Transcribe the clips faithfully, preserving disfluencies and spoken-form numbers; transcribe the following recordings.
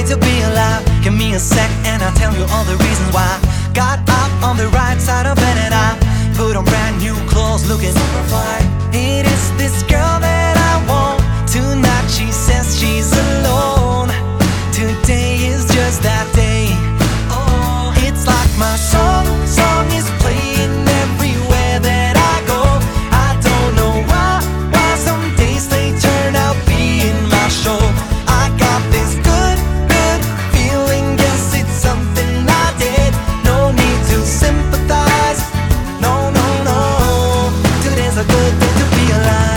day to be alive. Give me a sec and I'll tell you all the reasons why. Got up on the right side of bed and I put on brand new clothes looking super fly. It is this girl that I want. Tonight she says she's alone. Today is just that day. Oh, it's like my song, song is playing everywhere that I go. I don't know why, why some days they turn out being my show. I got this good, good feeling, guess it's something I did. No need to sympathize, no, no, no. Today's a good day to be alive.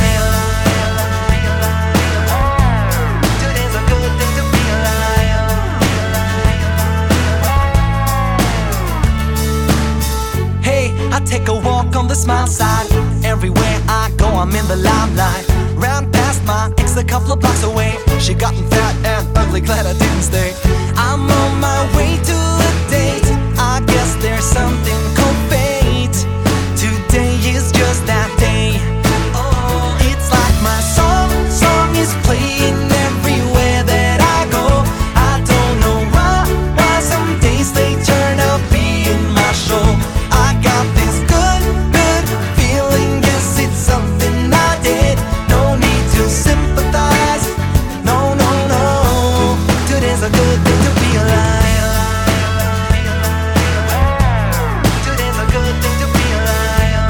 Today's a good day to be alive. Hey, I take a walk on the smile side. Everywhere I go, I'm in the limelight. Ran past my ex a couple of blocks away. She gotten fat and ugly, glad I didn't stay. I'm on my way to a date. I guess there's something called fate. Today is just that day. Oh, it's like my song, song is playing everywhere that I go. I don't know why, why some days they turn out being my show. I got this good, good feeling, guess it's something I did. No need to sympathize, no, no, no. Today's a good day to be alive. Today's a good day to be alive.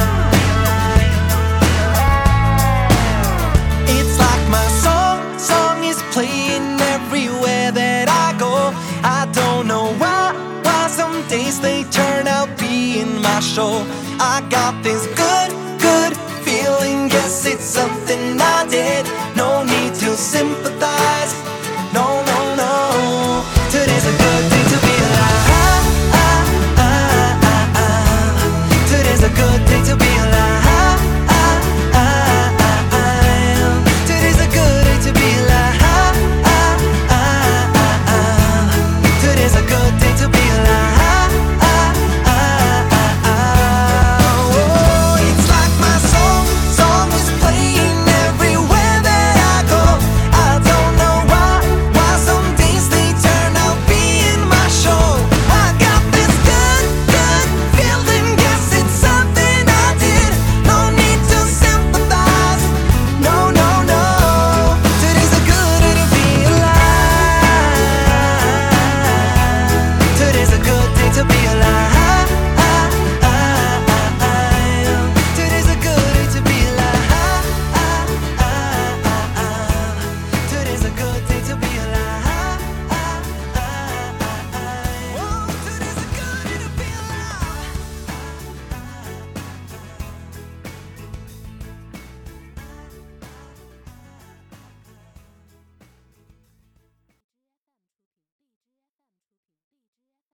It's like my song, song is playing everywhere that I go. I don't know why, why some days they turn out being my show. I got this good, good feeling, guess it's something I did. No need to sympathize,